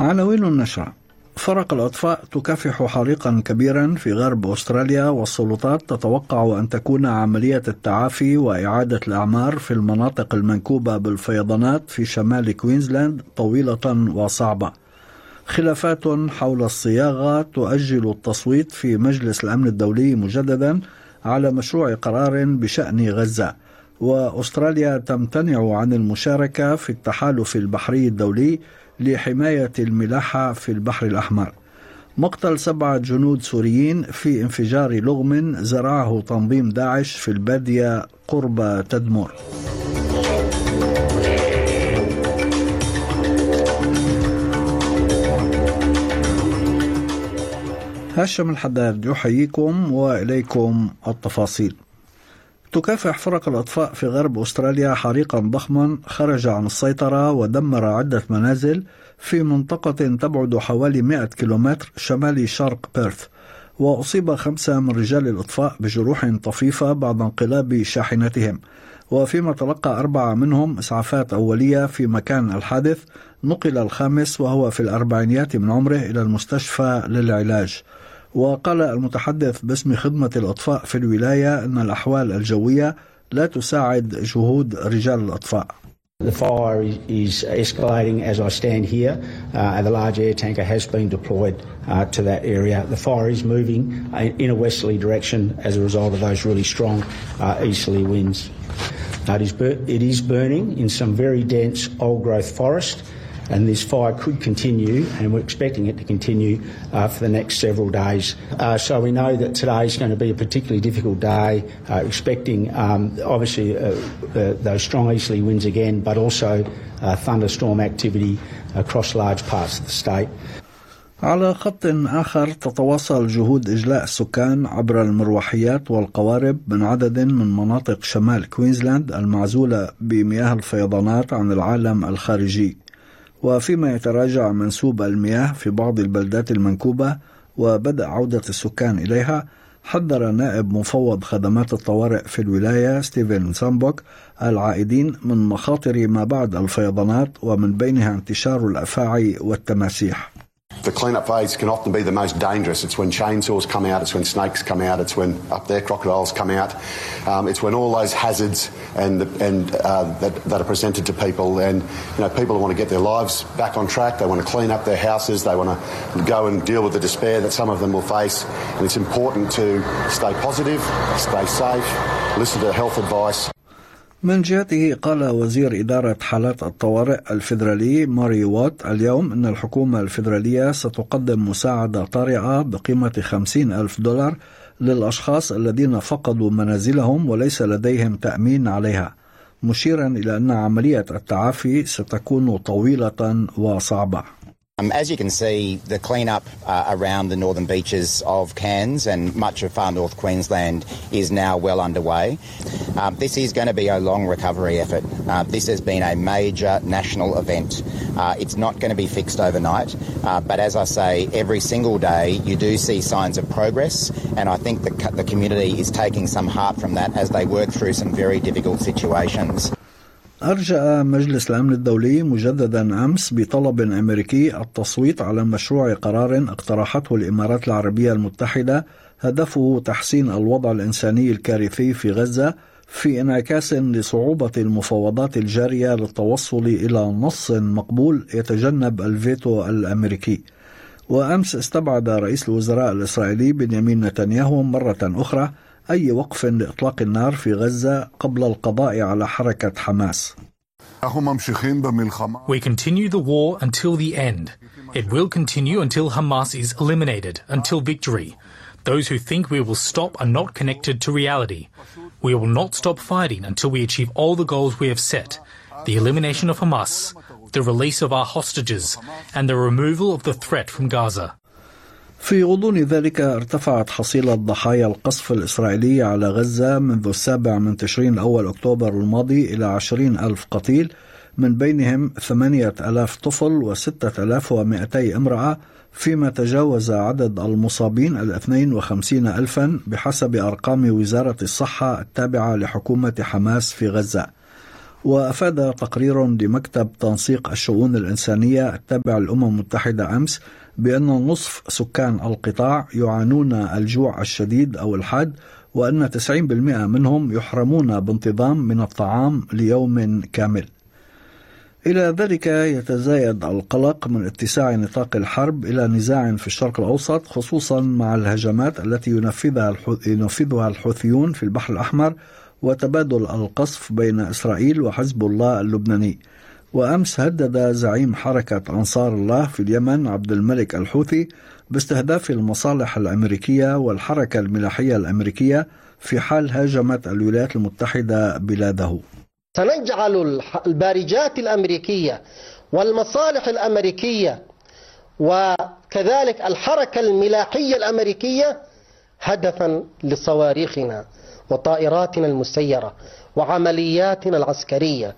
عناوين النشرة: فرق الأطفاء تكافح حريقا كبيرا في غرب أستراليا، والسلطات تتوقع أن تكون عملية التعافي وإعادة الأعمار في المناطق المنكوبة بالفيضانات في شمال كوينزلاند طويلة وصعبة. خلافات حول الصياغة تؤجل التصويت في مجلس الأمن الدولي مجددا على مشروع قرار بشأن غزة. وأستراليا تمتنع عن المشاركة في التحالف البحري الدولي لحماية الملاحة في البحر الأحمر. مقتل 7 جنود سوريين في انفجار لغم زرعه تنظيم داعش في البادية قرب تدمر. هاشم الحداد يحييكم وإليكم التفاصيل. تكافح فرق الأطفاء في غرب أستراليا حريقا ضخما خرج عن السيطرة ودمر عدة منازل في منطقة تبعد حوالي 100 كيلومتر شمالي شرق بيرث، وأصيب 5 من رجال الإطفاء بجروح طفيفة بعد انقلاب شاحنتهم، وفيما تلقى 4 منهم إسعافات أولية في مكان الحادث. نقل ال5 وهو في الأربعينيات من عمره إلى المستشفى للعلاج. وقال المتحدث باسم خدمة الأطفاء في الولاية أن الأحوال الجوية لا تساعد جهود رجال الأطفاء. The fire is escalating as I stand here. The large air tanker has been deployed to that area. The fire is moving in a westerly direction as a result of those really strong easterly winds. It is burning in some very dense old-growth forest, and this fire could continue, and we're expecting it to continue for the next several days. So we know that today is going to be a particularly difficult day, expecting obviously those strong easterly winds again, but also thunderstorm activity across large parts of the state. على خط آخر، تتواصل جهود إجلاء السكان عبر المروحيات والقوارب من عدد من مناطق شمال كوينزلاند المعزولة بمياه الفيضانات عن العالم الخارجي. وفيما يتراجع منسوب المياه في بعض البلدات المنكوبة وبدأ عودة السكان إليها، حذر نائب مفوض خدمات الطوارئ في الولاية ستيفن سامبوك العائدين من مخاطر ما بعد الفيضانات، ومن بينها انتشار الأفاعي والتماسيح. The clean-up phase can often be the most dangerous. It's when chainsaws come out, it's when snakes come out, it's when up there crocodiles come out. It's when all those hazards that are presented to people, and people want to get their lives back on track. They want to clean up their houses. They want to go and deal with the despair that some of them will face. And it's important to stay positive, stay safe, listen to health advice. من جهته قال وزير إدارة حالات الطوارئ الفيدرالي ماري وات اليوم أن الحكومة الفيدرالية ستقدم مساعدة طارئة بقيمة $50,000 للأشخاص الذين فقدوا منازلهم وليس لديهم تأمين عليها، مشيرا إلى أن عملية التعافي ستكون طويلة وصعبة. As you can see, the clean-up around the northern beaches of Cairns and much of far north Queensland is now well underway. This is going to be a long recovery effort. This has been a major national event. It's not going to be fixed overnight, but as I say, every single day you do see signs of progress, and I think the community is taking some heart from that as they work through some very difficult situations. أرجأ مجلس الأمن الدولي مجددا أمس بطلب أمريكي التصويت على مشروع قرار اقترحته الإمارات العربية المتحدة هدفه تحسين الوضع الإنساني الكارثي في غزة، في انعكاس لصعوبة المفاوضات الجارية للتوصل إلى نص مقبول يتجنب الفيتو الأمريكي. وأمس استبعد رئيس الوزراء الإسرائيلي بنيامين نتنياهو مرة أخرى أي وقف لإطلاق النار في غزة قبل القضاء على حركة حماس. We continue the war until the end. It will continue until Hamas is eliminated, until victory. Those who think we will stop are not connected to reality. We will not stop fighting until we achieve all the goals we have set: the elimination of Hamas, the release of our hostages, and the removal of the threat from Gaza. في غضون ذلك ارتفعت حصيلة ضحايا القصف الإسرائيلي على غزة منذ 7 تشرين الأول أكتوبر الماضي إلى 20,000 قتيل، من بينهم 8,000 طفل و6,200 امرأة، فيما تجاوز عدد المصابين 52,000 بحسب أرقام وزارة الصحة التابعة لحكومة حماس في غزة. وأفاد تقرير لمكتب تنسيق الشؤون الإنسانية التابع للأمم المتحدة أمس بأن نصف سكان القطاع يعانون الجوع الشديد أو الحاد، وأن 90% منهم يحرمون بانتظام من الطعام ليوم كامل. إلى ذلك يتزايد القلق من اتساع نطاق الحرب إلى نزاع في الشرق الأوسط، خصوصا مع الهجمات التي ينفذها الحوثيون في البحر الأحمر وتبادل القصف بين إسرائيل وحزب الله اللبناني. وأمس هدد زعيم حركة أنصار الله في اليمن عبد الملك الحوثي باستهداف المصالح الأمريكية والحركة الملاحية الأمريكية في حال هاجمت الولايات المتحدة بلاده. سنجعل البارجات الأمريكية والمصالح الأمريكية وكذلك الحركة الملاحية الأمريكية هدفا لصواريخنا وطائراتنا المسيرة وعملياتنا العسكرية.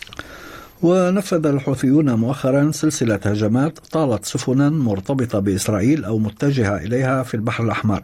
ونفذ الحوثيون مؤخرا سلسلة هجمات طالت سفنا مرتبطة بإسرائيل أو متجهة إليها في البحر الأحمر،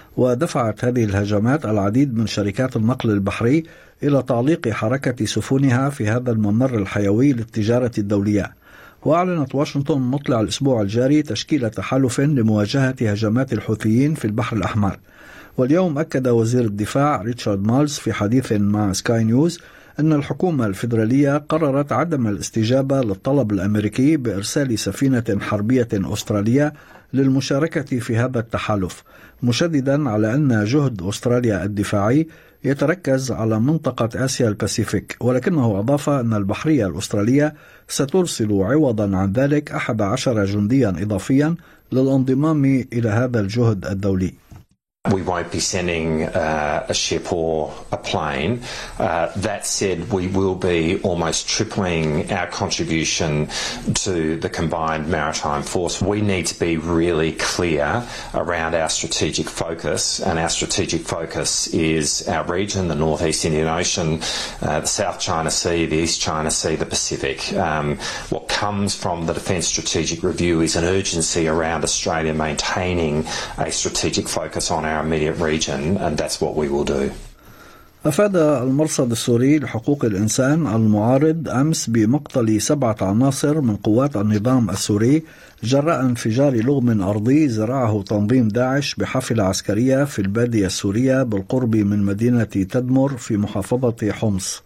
ودفعت هذه الهجمات العديد من شركات النقل البحري إلى تعليق حركة سفنها في هذا الممر الحيوي للتجارة الدولية. وأعلنت واشنطن مطلع الأسبوع الجاري تشكيل تحالف لمواجهة هجمات الحوثيين في البحر الأحمر. واليوم أكد وزير الدفاع ريتشارد مالز في حديث مع سكاي نيوز أن الحكومة الفيدرالية قررت عدم الاستجابة للطلب الأمريكي بإرسال سفينة حربية أسترالية للمشاركة في هذا التحالف، مشددا على أن جهد أستراليا الدفاعي يتركز على منطقة آسيا الباسيفيك، ولكنه أضاف أن البحرية الأسترالية سترسل عوضا عن ذلك 11 جنديا إضافيا للانضمام إلى هذا الجهد الدولي. We won't be sending a ship or a plane. That said, we will be almost tripling our contribution to the combined maritime force. We need to be really clear around our strategic focus, and our strategic focus is our region, the Northeast Indian Ocean, the South China Sea, the East China Sea, the Pacific. What comes from the Defence Strategic Review is an urgency around Australia maintaining a strategic focus on our immediate region, and that's what we will do. أفاد المرصد السوري لحقوق الإنسان المعارض أمس بمقتل 7 عناصر من قوات النظام السوري جراء انفجار لغم أرضي زرعه تنظيم داعش بحافلة عسكرية في البادية السورية بالقرب من مدينة تدمر في محافظة حمص.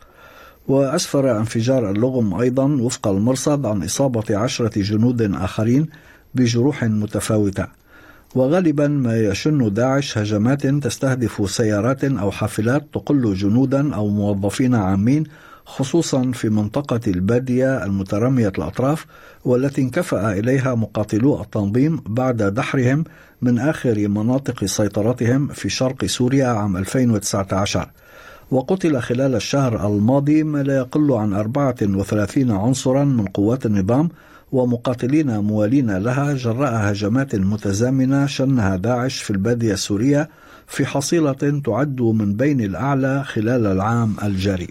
وأسفر انفجار اللغم أيضا وفق المرصد عن إصابة 10 جنود آخرين بجروح متفاوتة. وغالبا ما يشن داعش هجمات تستهدف سيارات أو حافلات تقل جنودا أو موظفين عامين، خصوصا في منطقة البادية المترامية الأطراف، والتي انكفأ إليها مقاتلو التنظيم بعد دحرهم من آخر مناطق سيطرتهم في شرق سوريا عام 2019. وقتل خلال الشهر الماضي ما لا يقل عن 34 عنصرا من قوات النظام ومقاتلين موالين لها جراء هجمات متزامنة شنها داعش في البادية السورية في حصيلة تعد من بين الأعلى خلال العام الجاري.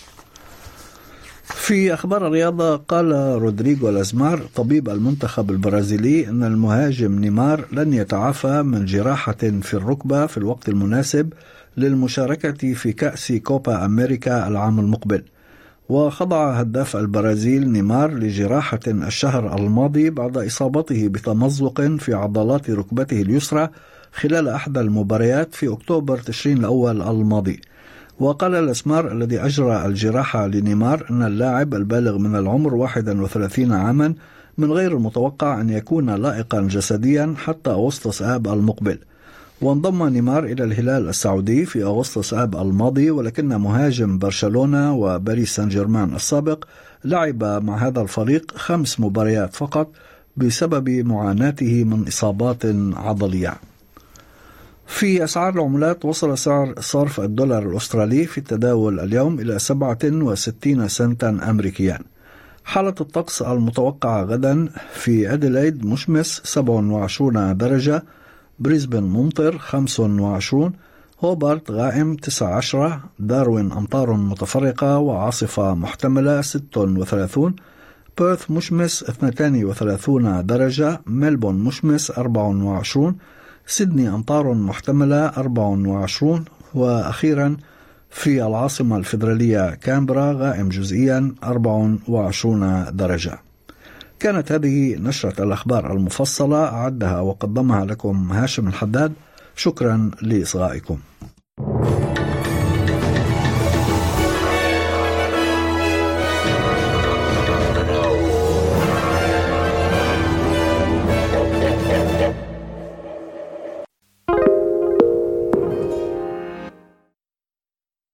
في أخبار الرياضة، قال رودريغو لازمار طبيب المنتخب البرازيلي أن المهاجم نيمار لن يتعافى من جراحة في الركبة في الوقت المناسب للمشاركة في كأس كوبا أمريكا العام المقبل. وخضع هداف البرازيل نيمار لجراحة الشهر الماضي بعد إصابته بتمزق في عضلات ركبته اليسرى خلال أحدى المباريات في أكتوبر تشرين الأول الماضي. وقال الأسمار الذي أجرى الجراحة لنيمار أن اللاعب البالغ من العمر 31 عاما من غير المتوقع أن يكون لائقا جسديا حتى أغسطس آب المقبل. وانضم نيمار إلى الهلال السعودي في أغسطس آب الماضي، ولكن مهاجم برشلونة وباريس سان جيرمان السابق لعب مع هذا الفريق 5 مباريات فقط بسبب معاناته من إصابات عضلية. في أسعار العملات، وصل سعر صرف الدولار الأسترالي في التداول اليوم إلى 67 سنتا أمريكيا. حالة الطقس المتوقعة غدا: في أديلايد مشمس 27 درجة، بريسبن ممطر 25، هوبارت غائم 19، داروين أمطار متفرقة وعاصفة محتملة 36، بيرث مشمس 32 درجة، ملبون مشمس 24، سيدني أمطار محتملة 24، وأخيرا في العاصمة الفيدرالية كامبرا غائم جزئيا 24 درجة. كانت هذه نشرة الأخبار المفصلة، أعدها وقدمها لكم هاشم الحداد. شكرا لإصغائكم.